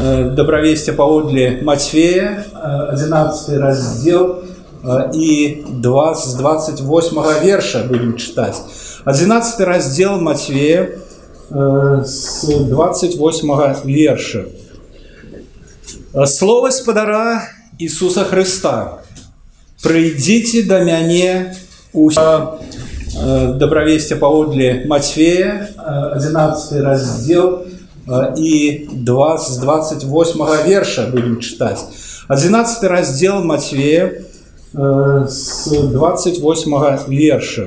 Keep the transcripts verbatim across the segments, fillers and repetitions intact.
Добровестие паводле Матфея, одиннадцатый раздел и с двадцать восьмого верша будем читать. одиннадцатый раздел Матфея с двадцать восьмого верша. Слово Господара Иисуса Христа. «Придите до мяне усе». Добровестие паводле Матфея, одиннадцатый раздел и с двадцать восьмого верша будем читать. одиннадцатый раздел Матфея с двадцать восьмого верша.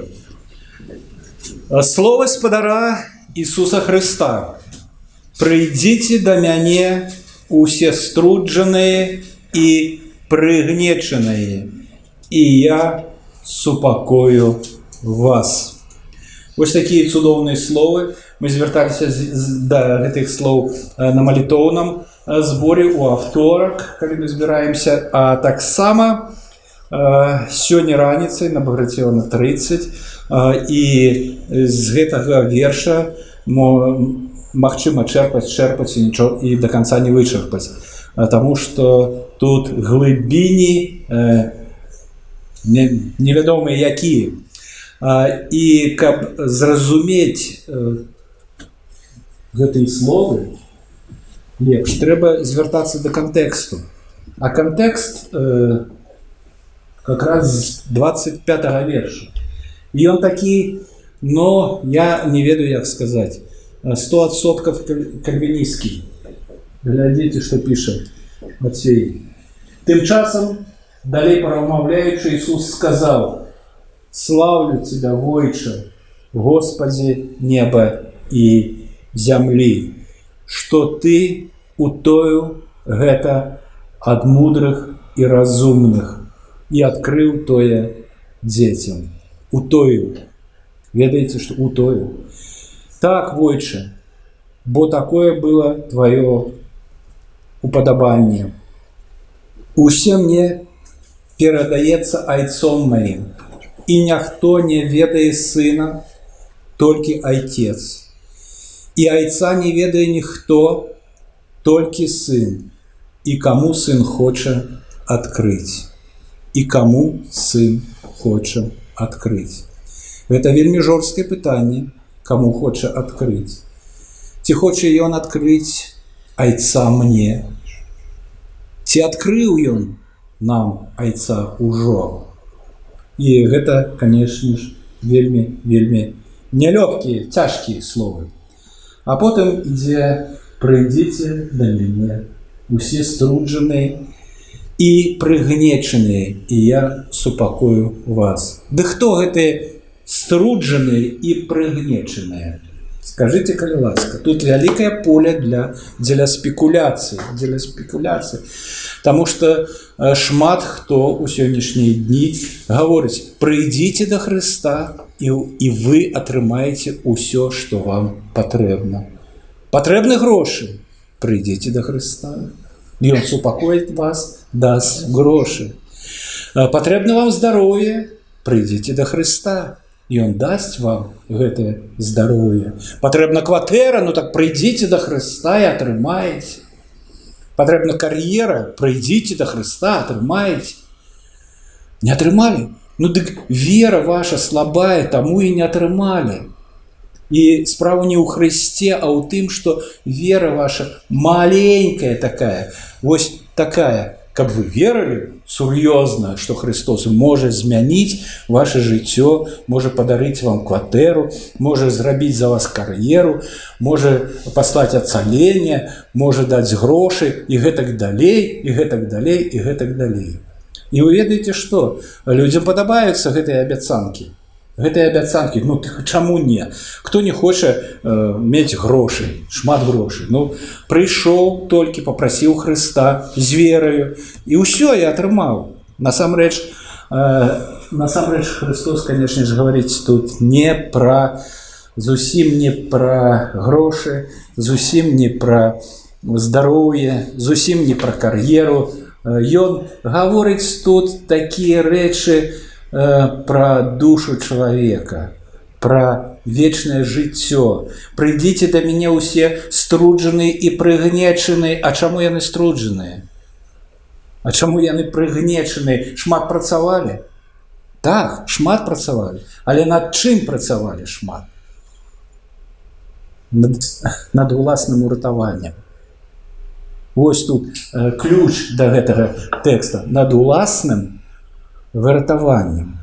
Слово Господара Иисуса Христа. «Придите до мяне усе струдженные и пригнеченные, и я супокою вас». Вось такие цудоўныя словы. Мы звярталіся да гэтых слоў на малітоўным зборе у аўторак, калі мы збіраемся, а таксама сёння раніцай на Баграцёна тридцать, і з гэтага верша магчыма чэрпаць, чэрпаць і нічого і да канца не вычарпаць, таму што тут глыбіні невядомыя якія. І каб зразумець гэтыя словы лепш, трэба звяртацца да кантэксту. А кантэкст э, как раз двадцать пятого верша. І ён такі, но я не ведаю, як сказаць, сто адсоткаў кальвінісцкі. Глядзіце, што піша Матфей. Тым часам, далей парамаўляючы, Ісус сказаў: «Славлю Тебя, Войче, Господи неба и земли, что Ты утоил гэта от мудрых и разумных и открыл тое детям». Утоил. Ведаете, что утоил? Так, Войче, бо такое было Твое уподобание. Усе мне передаецца айцом моим, и ніхто не ведае сына, толькі айцец. И айца не ведае ніхто, толькі сын, и кому сын хоча открыть. И кому сын хоча открыть. Гэта вельмі жорсткае пытанне, кому хоча открыть. Ці хоча ён открыть айца мне? Ці открыў ён нам айца ўжо? І гэта, конечно ж, вельмі, вельмі нялёгкія, цяжкія словы. А потым ідзе: «Прыйдзіце да мяне усе струджаныя і прыгнечаныя, і я супакою вас». Да хто гэтыя струджаныя і прыгнечаныя? Скажите, калі ласка. Тут вялікае поле для, для спекуляцый, для спекуляцый. Таму што шмат хто ў сённяшнія дні гаворыць: «Прыйдзіце да Хрыста, і, і вы атрымаеце ўсё, што вам патрэбна». Патрэбны грошы? Прыйдзіце да Хрыста. Ён супакоіць вас, даст грошы. Патрэбна вам здароўе? Прыйдзіце да Хрыста. І ён дасць вам гэтае здароўе. Патрэбна кватэра? Ну так прыйдзіце да Хрыста і атрымаеце. Патрэбна кар'ера? Прыйдзіце да Хрыста, атрымаеце. Не атрымалі? Ну дык вера ваша слабая, таму і не атрымалі. І справа не ў Хрысце, а ў тым, што вера ваша маленькая такая, вось такая. Каб вы верылі сур'ёзна, што Христос можа змяніць ваше жыццё, можа падарыць вам кватэру, можа зрабіць за вас кар'еру, можа паслаць ацаленне, можа даць грошы і гэтак далей, і гэтак далей, і гэтак далей. І вы ведаеце што? Людзям падабаюцца гэтыя абяцанкі. Гэтыя абяцанкі, ну чаму не? Хто не хоча э, мець грошай, шмат грошай? Ну, прыйшоў толькі, папрасіў Хрыста з вераю, і ўсё, я атрымаў. Насамрэч, э, насамрэч Христос, конечно же, гаворыць тут не пра, зусім не пра грошы, зусім не пра здароўе, зусім не пра кар'еру. Ён гаворыць тут такія рэчы, про душу человека, про вечнае жыццё. Прыйдзіце да мяне ўсе струджаныя і прыгнечаныя. А чаму яны струджаныя? А чаму яны прыгнечаныя? Шмат працавалі? Так, шмат працавалі. Але над чым працавалі шмат? Над, над уласным уратаваннем. Вось тут э, ключ да гэтага тэкста. Над уласным выратаваннем.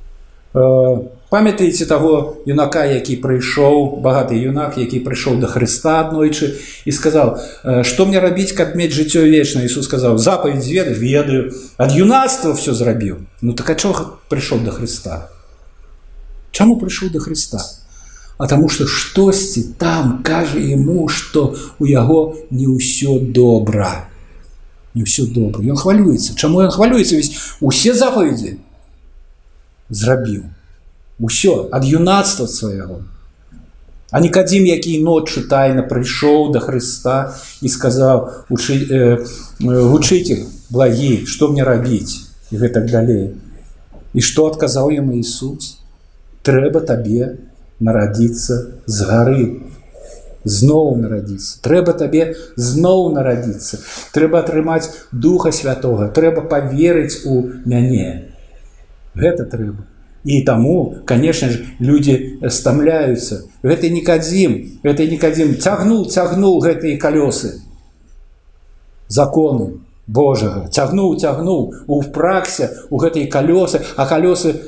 Э, Памятаеце таго юнака, які прыйшоў, багаты юнак, які прыйшоў да Хрыста аднойчы і сказаў: што мне рабіць, каб мець жыццё вечнае? Ісус сказаў: запаведь ведаю, ведаю, ад юнацтва все зрабіў. Ну так а чого прыйшоў да Хрыста? Чаму прыйшоў да Хрыста? А таму што штосьці там кажа яму, што у яго не ўсё добра. Не ўсё добра. Ён хвалюецца. Чаму ён хвалюецца? Ведь усе запаведзі зрабіў. Усё, ад юнацтва свайго. А Нікадзім, які ноччу тайна прыйшоў да Хрыста і сказаў: Учы, э, вучыцель благі, што мне рабіць? І гэтак далей. І што адказаў яму Ісус? Трэба табе нарадзіцца з гары. Зноў нарадзіцца. Трэба табе зноў нарадзіцца. Трэба атрымаць Духа Святога. Трэба паверыць у мяне. Гэта трэба. І таму, конечно ж, людзі стамляюцца. Гэты Нікадзім, гэты Нікадзім цягнуў, цягнуў гэтыя калёсы закону Божага. Цягнуў, цягнуў у праксе, у гэтыя калёсы, а калёсы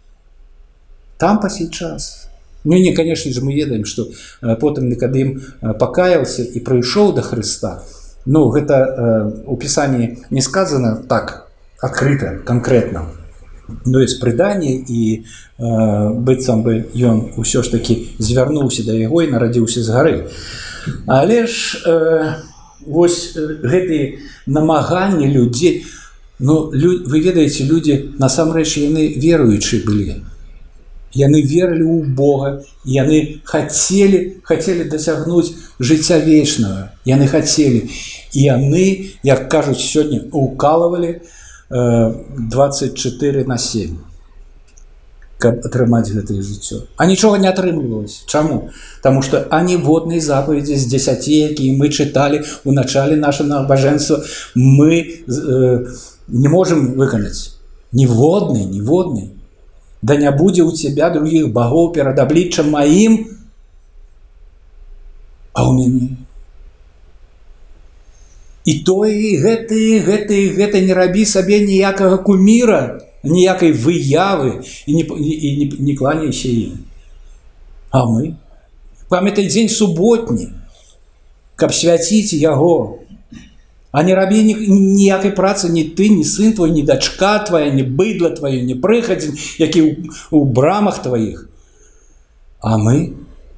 там па сей час. Ну не, конечно же, мы ведаем, што потым Нікадзім пакаяўся і прыйшоў да Хрыста. Ну, гэта у Пісанні не сказана так адкрыта, канкрэтна. Ну, ёсць прыданне, і э, быццам бы ён усё ж такі звярнуўся да яго і нарадзіўся з гары. Але ж э, вось гэтыя намаганні людзей, ну, лю, вы ведаеце, людзі насамрэч яны веруючыя былі. Яны верылі ў Бога, яны хацелі, хацелі дасягнуць жыцця вечнага. Яны хацелі. І яны, як кажуць сёння, укалывалі двадцать четыре на семь, каб атрымаць гэтае жыццё. А нічога не атрымлівалася. Чаму? Таму што аніводнай запаведзі з дзесяці, якія мы чыталі ў начале нашага набажэнства, мы э, не можам выканаць. Ніводнай, ніводнай. Да не будзе ў цябе другіх багоў перад абліччам маім, а ў мяне. І тое, і гэта, і гэта, і гэта не рабі сабе ніякага куміра, ніякай выявы, і не, і не, не кланяйся ім. А мы? Памятай дзень суботні, каб свяціць яго. А не рабі ніякай працы ні ты, ні сын твой, ні дачка твая, ні быдла твое, ні прыхадзень, які ў, ў брамах тваіх. А мы?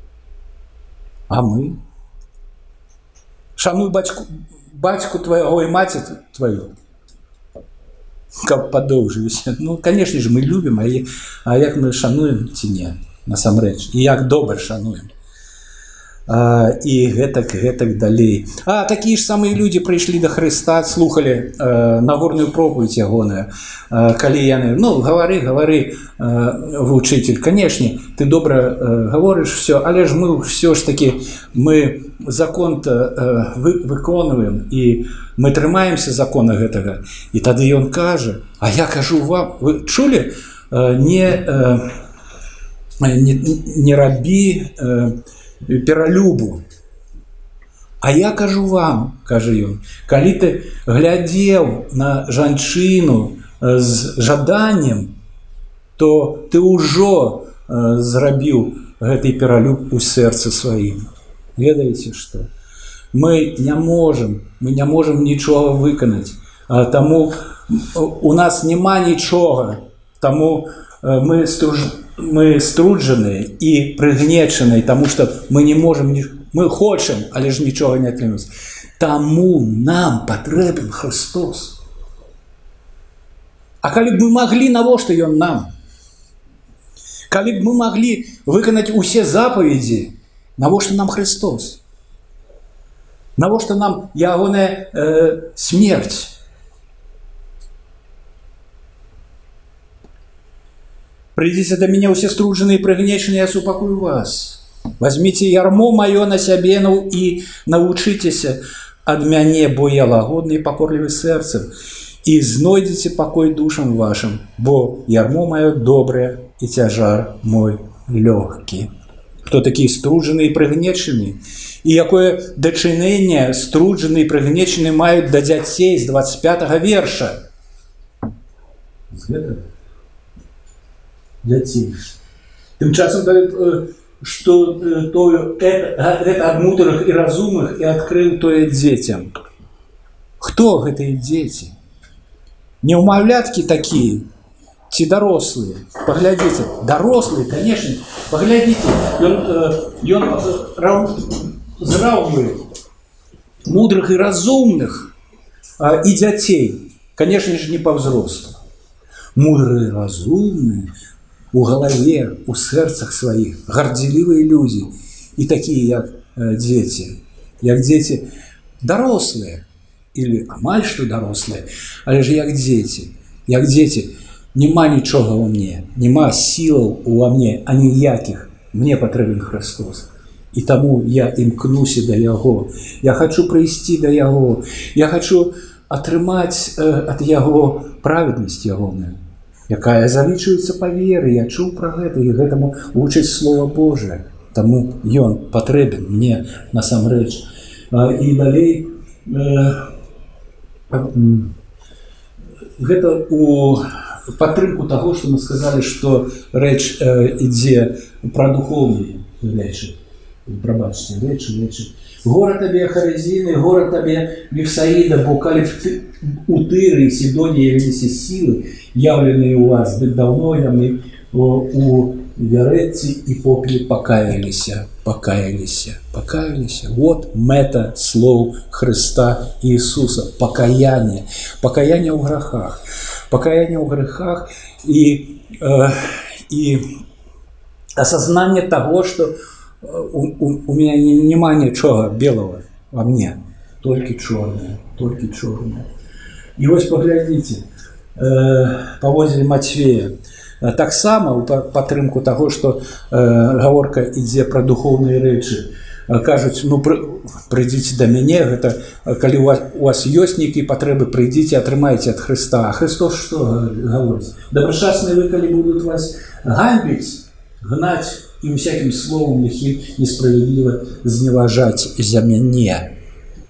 А мы? Шануй бацьку, бацьку твайго і маці тваю, каб падоўжыліся. Ну, конечно же, мы любім, а, а як мы шануем ці не, насамрэч, і як добра шануем. А, і гэтак, гэтак далей. А такія ж самыя людзі прыйшлі да Хрыста, слухалі а, Нагорную пропаведь ягоную, а, калі яны, ну, гавары, гавары, а, вучитель, конечно, ты добра а, гаворыш все, але ж мы все ж таки, мы закон-то а, вы, выконваем, і мы трымаемся закона гэтага. І тады ён кажа: а я кажу вам, вы чулі, а, не, а, не, не рабі а, пералюбу. А я кажу вам, кажа ён, калі ты глядзеў на жанчыну з жаданнем, то ты ўжо зрабіў гэты пералюб у сэрцы сваім. Ведаеце што? Мы не можам, мы не можам нічога выканаць. Таму у нас няма нічога. Таму мы струж... мы струджаныя і прыгнечаныя, таму што мы не можам, мы хочам, але ж нічога не атрымаць. Таму нам патрэбен Христос. А калі б мы маглі, навошта ён нам? Калі б мы маглі выканаць усе запаведзі, навошта нам Христос? Навошта нам ягоная э, смерць? Придите до меня все струдженные и пригнеченные, я супакую вас. Возьмите ярмо мое на себе, ну, и научитесь от мяне, бо я лагодный и покорливый сердцем, и знойдите покой душам вашим, бо ярмо мое доброе и тяжар мой легкий. Хто такі струджені і пригнечені? І якое дачыненне струджені і пригнечені мають до дзяцей з двадцять пятага верша? З гэтага? Дзяцей. Тым часам дают, што гэта ад мудрых і разумных і адкрыў тое дзецям. Хто гэтыя дзеці? Неўмаўляткі такія? Ці дарослыя? Паглядзіце. Дарослыя, конечно. Паглядзіце. Ён, ён зраўнивает мудрых і разумных і дзяцей. Конечно же, не по взрослым. Мудрые, разумные, у голове, у сердцах своих, горделивые люди. И такие, как дети. Як дети дорослые. Или амаль что дорослые. Але же як дети. Як дети. Нема нічога во мне. Нема силаў во мне, а ніяких. Мне потребен Христос. И тому я імкнуся до Яго. Я хочу прийти до Яго. Я хочу атрымаць э, от Яго праведность Ягоную, якая залічуецца па веры. Я чуў про гэта, і гэтаму вучыць Слово Божие. Тому ён патрэбен мне насамрэч. Э, і далей э, э, гэта у падтрымку того, что мы сказали, что рэч э, ідзе про духовные рэчы. Пробачьте, рэчы, рэчы. Гора табе Харезины, гора табе Вифсаида, бо калі у Тыры и Сидонии явились силы, явленные у вас, дык давно яны у Веретці и Попеле покаялись, покаялись, покаялись. Вот мета слов Христа Иисуса. Покаяние. Покаяние в грехах. Покаяние в грехах и, э, и осознание того, что у, у, у меня нема ничего белого во мне. Только черное. Только черное. И вот поглядите, э, повозили Матфея. Так само у падтрымку того, что э, гаворка ідзе про духовные рэчы. Кажуць, ну прыйдзіце до мяне, гэта калі у вас, у вас ёсць нейкія патрэбы, прыйдзіце, атрымайце ад Христа. А Христос что гаворыць? Добрачасныя вы, калі будут вас ганьбіць, гнаць і всяким словом лихим несправедливо зневажаць за мяне.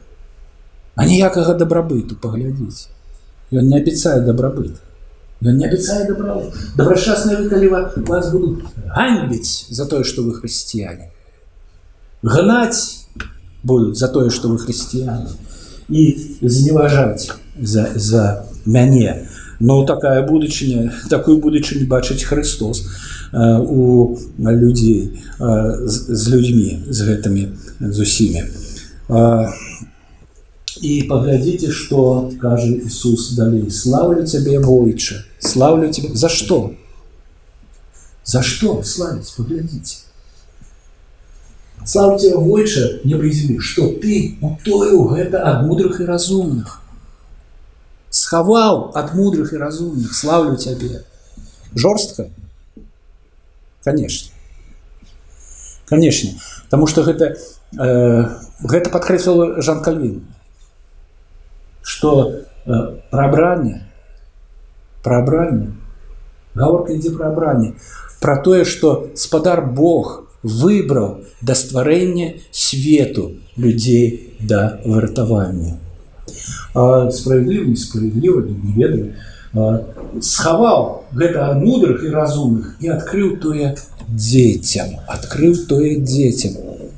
А ніякага дабрабыту, паглядзіце. Ён не абяцае дабрабыт. Ён не абяцае дабрабыт. Добрачасныя вы, калі вас будут ганьбіць за тое, што вы хрысціяне. Гнать будут за то, что вы христиане, и зневажать за, за мяне. Но такая будучыня, такую будучыню бачыць Христос э, у людей, э, з, з людьми, з гэтымі, з усімі. Э, и поглядите, что кажет Иисус далее. Славлю Тебя, Бойче, славлю Тебя. За что? За что славить? Поглядите. Слава Тебя, Войче, небо и земли, что Ты утоил это от мудрых и разумных. Сховал от мудрых и разумных. Славлю Тебе. Жорстко? Конечно. Конечно. Потому что это, э, это подкрепил Жан Кальвин. Что э, пробрание, пробрание, говорка идет про брание, про то, что Спадар Бог выбрал до створения свету людей до выратавання. А справедливо, несправедливо, не ведаю, а, сховал гэта ад мудрых и разумных и открыл тое детям, открыл тое детям.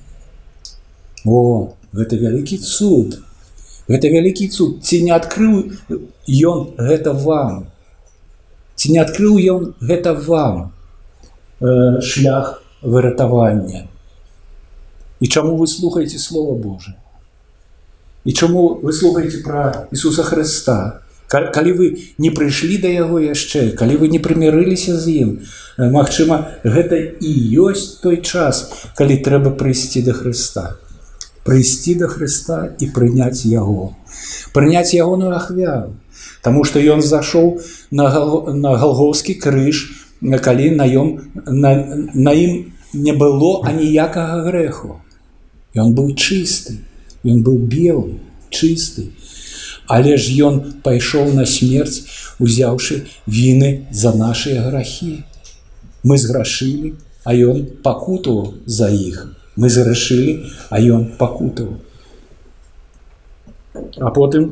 О, гэта вялікі цуд. Гэта вялікі цуд. Ці не открыл ён гэта вам? Ці не открыл ён гэта вам э, шлях выратавання? І чаму вы слухаеце Слово Божие? І чаму вы слухаеце про Ісуса Христа? Калі вы не прыйшлі да Яго яшчэ, калі вы не прымірыліся з ім, магчыма, гэта і ёсць той час, калі трэба прыйсці да Христа. Прыйсці да Христа і прыняць Яго. Прыняць Ягоную ахвяру. Таму што Ён зашоў на Галгофскі крыж калі на ім, на, на ім не было аніякага грэху. Ён быў чысты, ён быў белы, чысты. Але ж ён пайшоў на смерць, узяўшы віны за нашыя грахі. Мы зграшылі, а ён пакутаваў за іх. Мы зграшылі, а ён пакутаваў. А потым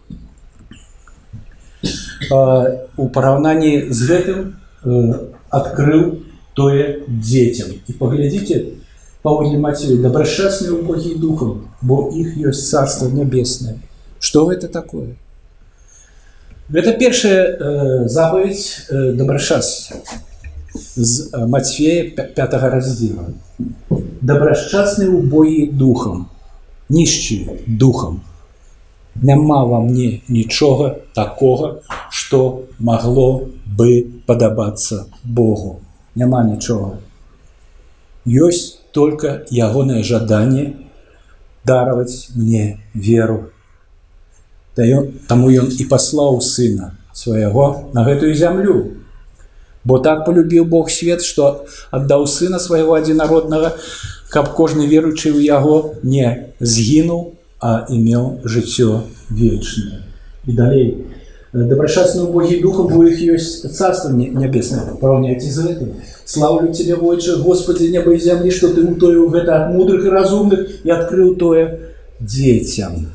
у параўнанні з гэтым адкрыў тое дзецям. І паглядзіце, паводле Мацея, добрашчасныя убогія духам, бо іх ёсць царство нябеснае. Што гэта такое? Гэта першая запаведь добрашчасця з Мацфея пятага раздзела. Добрашчасныя убогія духам, нішчыя духам. Няма ва мне нічога такога, што магло бы падабацца Богу. Няма нічога. Ёсць только ягонае жаданне дараваць мне веру. Таму ён і паслаў сына свайго на гэтую зямлю. Бо так полюбіў Бог свет, што аддаў сына свайго адзінароднага, каб кожны веруючы ў яго не згінуў, а имел жыццё вечнае. І далей. Добрашчасныя убогія духам, бо іх ёсць царство нябеснае. Параўняйце з гэтым. Слаўлю Тебе, Войче, Господи, неба і зямлі, што Ты утоіў гэта ад мудрых і разумных і адкрыў тое дзецям.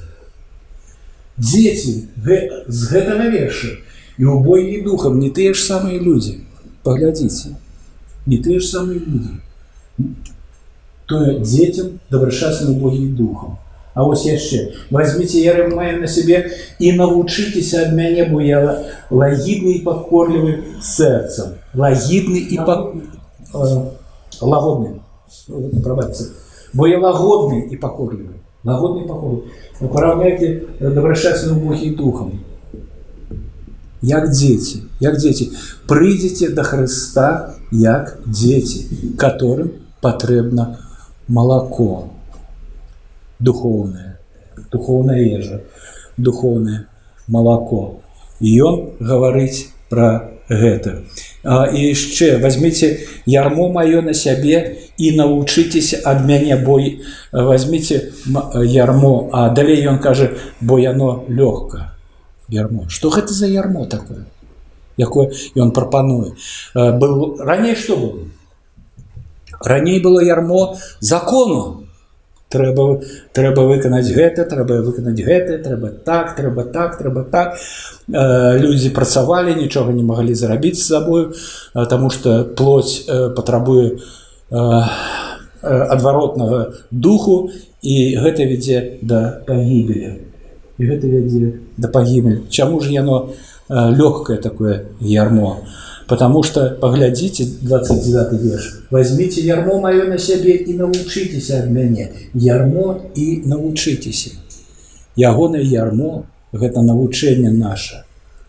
Дзеці з гэтага верша і убогія духам не тыя ж самыя людзі. Паглядзіце. Не тыя ж самыя людзі. Тое дзецям добрашчасныя убогія духам. А вось яшчэ. Возьмите Єремія на себе і навучитеся ад мяне, бо я лагідны і пакорлівы сэрцам. Лагідны і пак... лагодны. Прабачце. Бо я лагодны і пакорлівы. Лагодны і пакорлівы. Параўняйте добрашчасныя убогія духам. Як дзеці, як дзеці. Прыйдзеце да Хрыста як дзеці, которым патрэбна малако. Духовное, духовная ежа, духовное молоко. И он говорит про это. А, и еще возьмите ярмо мое на себе и научитесь от меня, бо возьмите ярмо, а далее он каже, бо яно легко. Ярмо. Что это за ярмо такое? Якое? И он пропонует. Был, ранее что было? Ранее было ярмо закону. Трэба, трэба выканаць гэта, трэба выканаць гэта, трэба так, трэба так, трэба так. Э, людзі працавалі, нічога не маглі зрабіць з сабою, э, таму што плоть э, патрабуе э, э, адваротнага духу, і гэта вядзе да пагібелі. І гэта вядзе да пагібелі. Чаму ж яно э, лёгкае такое ярмо? Потому что, поглядите, двадцать девятый верш. Возьмите ярмо мое на себе и научитесь от меня. Ярмо и научитесь. Ягоное ярмо – это научение наше.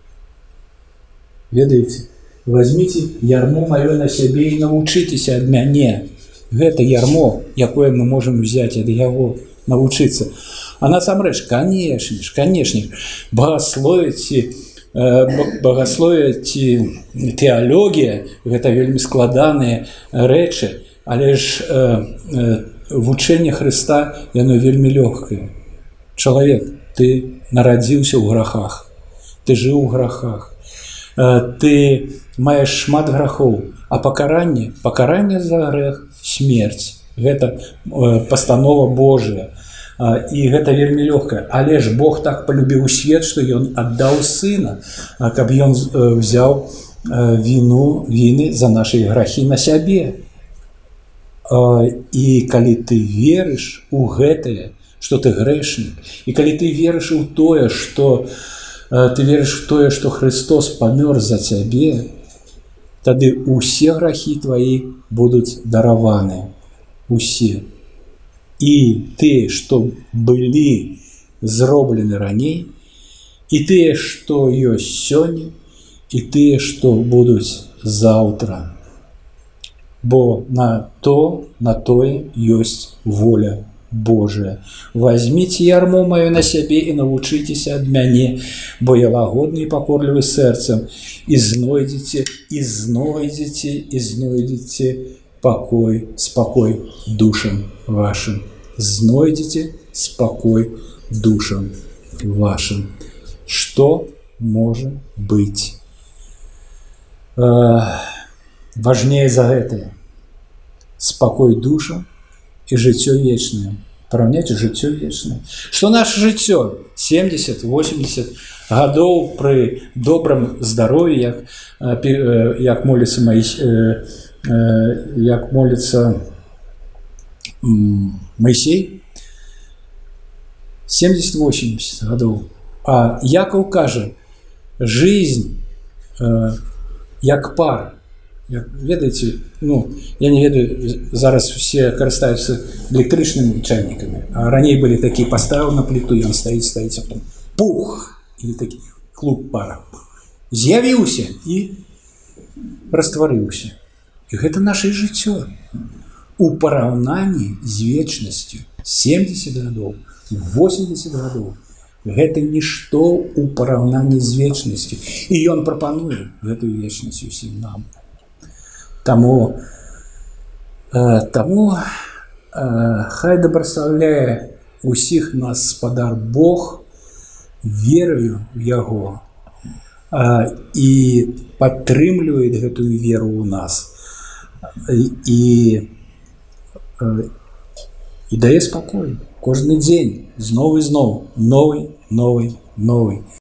Ведаете? Возьмите ярмо мое на себе и научитесь от меня. Это ярмо, якое мы можем взять от его, научиться. А насамрэч, конечно, конечно, богословите, Багасловие ці тэалогія гэта вельмі складаныя рэчы, але ж э, э, вучэнне Хрыста яно вельмі лёгкае. Чалавек, ты нарадзіўся ў грахах, ты жыў у грахах, э, ты маеш шмат грахоў, а пакаранне, пакаранне за грэх смерць. Гэта э, пастанова Божая. І гэта вельмі лёгкае. Але ж Бог так полюбіў свет, што ён аддаў сына, каб ён взяў віну, віны за нашы грахі на сябе. І калі ты верыш у гэтае, што ты грэшнік, і калі ты верыш у тое, што ты верыш у тое, што Христос памёр за цябе, тады усе грахі твои будуць дараваны. Усе. І тыя, што былі зроблены раней, і тыя, што ёсць сёння, і тыя, што будуць заўтра. Бо на то, на тое ёсць воля Божие. Возьмите ярмо мое на себе и научитесь от мяне, бо я лагодный и покорливый сердцем, и знойдете, и знойдете, и знойдете покой, спокой душам вашим. Знойдете спокой душам вашим. Что может быть э, важнее за это? Спокой душам и жыццё вечное. Параўняйце жыццё вечное. Што наше жыццё семьдесят восемьдесят гадоў пры добрым здароўі, як, як моліцца Маісей, як моліцца Маісей, семьдесят восемьдесят гадоў. А Яков кажа, жизнь як пар. Ведаеце, ну, я не ведаю, зараз все карыстаюцца электрычнымі чайнікамі, а раней былі такія, паставіў на пліту, ён стаіць, стаіць, а потом пух, і такі клуб пара. З'явіўся і растварыўся. І гэта наша жыццё. У параўнанні з вечнасцю семьдесят гадоў, восемьдесят гадоў. Гэта нішто у параўнанні з вечнасцю. І ён прапануе гэтую вечнасць усім нам. Таму, э, таму э, хай дабраслаўляе усіх нас Спадар Бог верою в Яго э, і падтрымлівае гэтую веру ў нас і, э, і дае спакой кожны дзень зноў і зноў новый, новый, новый.